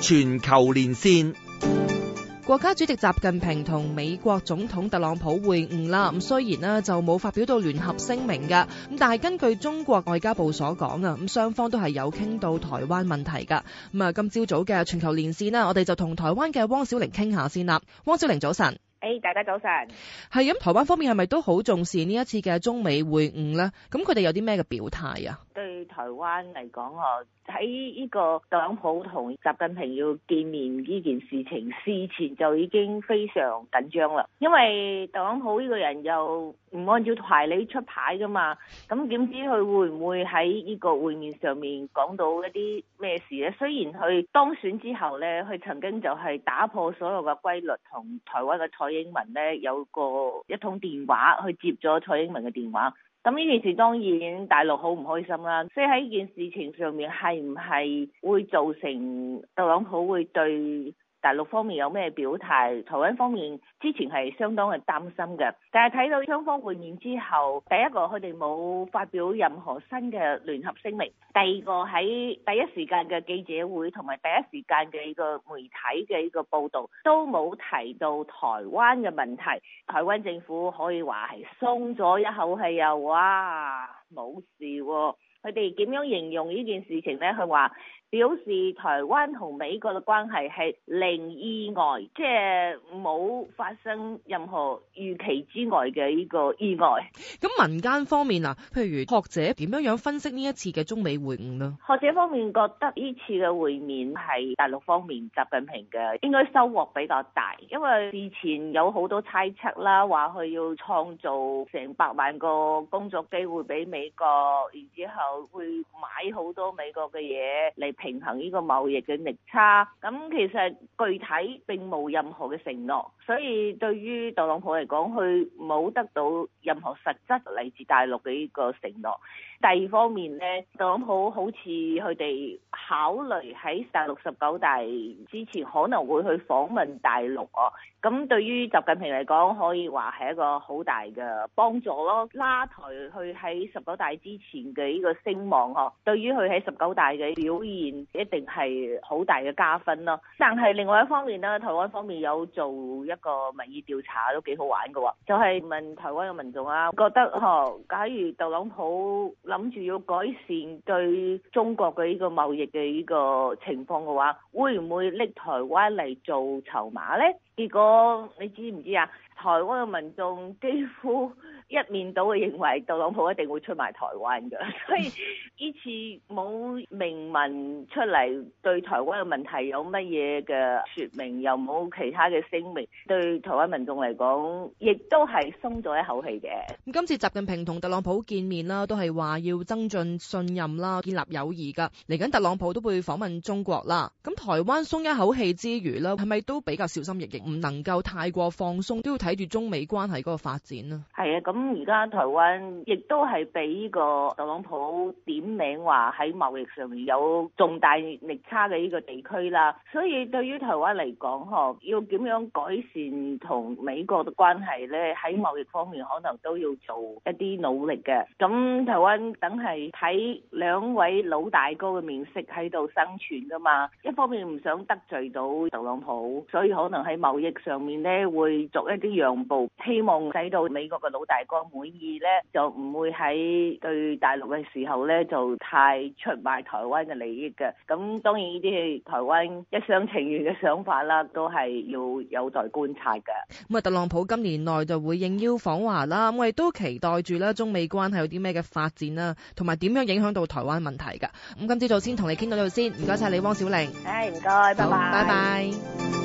全球連線。 國家主席習近平同美國總統特朗普會晤啦，咁雖然呢就冇發表到聯合聲明㗎，咁但係根據中國外交部所講啊，咁雙方都係有傾到台灣問題㗎。咁啊，今朝早嘅全球連線啦，我哋就同台灣嘅汪小玲傾下先啦。汪小玲早晨。 大家早晨。 係咁，台灣方面係咪都好重視呢一次嘅中美會晤呢？咁佢哋有啲咩嘅表態啊？ 對台灣嚟講，喺呢個特朗普同習近平要見面呢件事情事前就已經非常緊張啦，因為特朗普呢個人又唔按照牌理出牌噶嘛，咁點知佢會唔會喺呢個會面上面講到一啲咩事呢？雖然佢當選之後呢，佢曾經就係打破所有嘅規律，同台灣嘅蔡英文呢有過一通電話，去接咗蔡英文嘅電話。咁呢件事當然大陸好唔開心啦，所以喺呢件事情上面係唔係會造成特朗普會對大陸方面有咩表態？台灣方面之前係相當係擔心嘅，但係睇到雙方會面之後，第一個佢哋冇發表任何新嘅聯合聲明，第二個喺第一時間嘅記者會同埋第一時間嘅呢個媒體嘅呢個報導都冇提到台灣嘅問題。台灣政府可以話係鬆咗一口氣啊！哇，冇事喎。佢哋點樣形容呢件事情呢？佢話表示台灣同美國嘅關係係零意外，即係冇發生任何預期之外嘅呢個意外。 咁民間方面啊，譬如學者點樣分析呢一次嘅中美會晤呢？ 學者方面覺得呢次嘅會面係大陸方面習近平嘅應該收穫比較大，因為事前有好多猜測啦，話佢要創造成百萬個工作機會俾美國，然之後會買好多美國嘅嘢嚟平衡呢個貿易嘅逆差。咁其實具體並冇任何嘅承諾，所以對於特朗普嚟講，佢冇得到任何實質嚟自大陸嘅呢個承諾。第二方面呢，特朗普好似佢哋考慮喺大陸19大之前可能會去訪問大陸啊。咁對於習近平嚟講，可以話係一個好大嘅幫助咯，拉抬佢喺19大之前嘅呢個聲望呵。對於佢喺19大嘅表現，一定係好大嘅加分咯。但係另外一方面呢，台灣方面有做一個民意調查都幾好玩嘅喎，就係問台灣嘅民眾啊，覺得假如特朗普諗住要改善對中國嘅呢個貿易嘅呢個情況嘅話，會唔會拎台灣嚟做籌碼呢？結果你知唔知啊？台灣嘅民眾幾乎一面倒嘅認為特朗普一定會出賣台灣嘅，所以呢次冇明文出嚟對台灣嘅問題有乜嘢嘅説明，又冇其他嘅聲明，對台灣民眾嚟講，亦都係鬆咗一口氣嘅。 咁今次習近平同特朗普見面啦，都係話要增進信任啦，建立友誼㗎。嚟緊特朗普都會訪問中國啦。咁台灣鬆一口氣之餘啦，係咪都比較小心翼翼，唔能夠太過放鬆，都要睇住中美關係嗰個發展呢？ 係啊，咁而家台灣亦都係俾呢個特朗普點名話喺貿易上面有重大逆差嘅呢個地區啦，所以對於台灣嚟講，要點樣改善同美國嘅關係呢？喺貿易方面可能都要做一啲努力嘅。咁台灣等係睇兩位老大哥嘅面色喺度生存噶嘛，一方面唔想得罪到特朗普，所以可能喺貿易上面呢會作一啲讓步，希望使到美國嘅老大哥滿意呢，就唔會喺對大陸嘅時候呢就太出賣台灣嘅利益嘅。咁當然呢啲係台灣一廂情願嘅想法啦，都係要有待觀察嘅。 咁啊，特朗普今年內就會應邀訪華啦，我哋都期待住啦，中美關係有啲咩嘅發展啦，同埋點樣影響到台灣問題㗎。咁今朝早先同你傾到呢度先，唔該晒你，汪小玲。 唔該，拜拜。 拜拜。